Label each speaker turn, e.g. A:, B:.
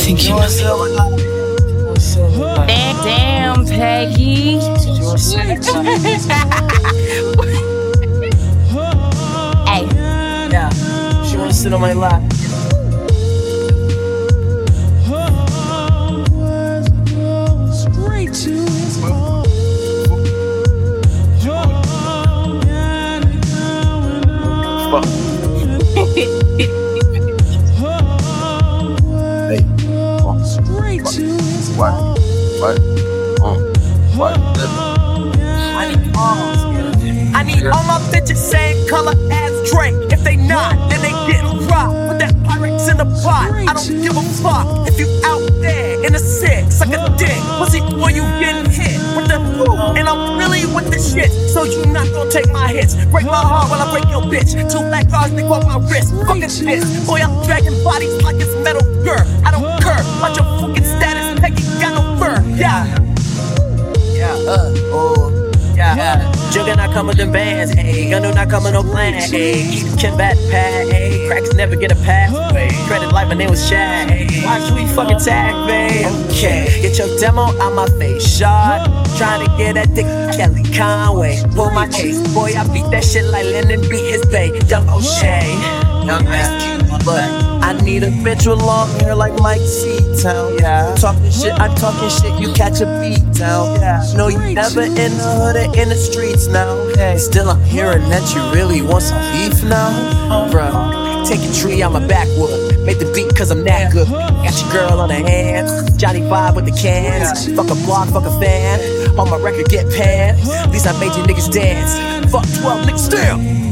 A: think you know.
B: Damn, Peggy. Hey.
A: Yeah, she wanna sit on my lap.
C: Straight to his heart.
D: Hey,
C: Straight to his
D: what?
C: heart.
D: What?
E: I need all my bitches same color as Drake. If they not, then they getting rocked with that Pyrex in the pot. I don't give a fuck if you out there in the six, suck a dick, pussy boy, you getting hit with the food. And I'm really with the shit, so you not gonna take my hits. Break my heart while I break your bitch. 2 black cars, they on my wrist. Fucking this, boy, I'm dragging bodies like it's Metal Gear. I don't care about your fucking status, Peggy got no fur. Yeah.
A: Jugger not come with them bands, ayy. Gun do not come with no plan, ayy. Keep the combat pad, ayy. Cracks never get a pass, ayy. Credit like my name was Shad, ayy. Watch we fucking tag, babe. Okay, get your demo out my face, shot. Trying to get that dick, Kelly Conway. Pull my case, boy, I beat that shit like Lennon beat his bae. Young O'Shea, young man, but I need a bitch with long hair like Mike C-Town. Yeah, talking shit, I'm talking shit, you catch a beat down. Yeah, no, you never in the hood or in the streets now. Hey, still I'm hearing that you really want some beef now, bruh. Take a tree out my backwood, make the beat cause I'm that good. Got your girl on the hand, Johnny vibe with the cans. Fuck a block, fuck a fan, on my record get panned. At least I made you niggas dance. Fuck 12 niggas, damn.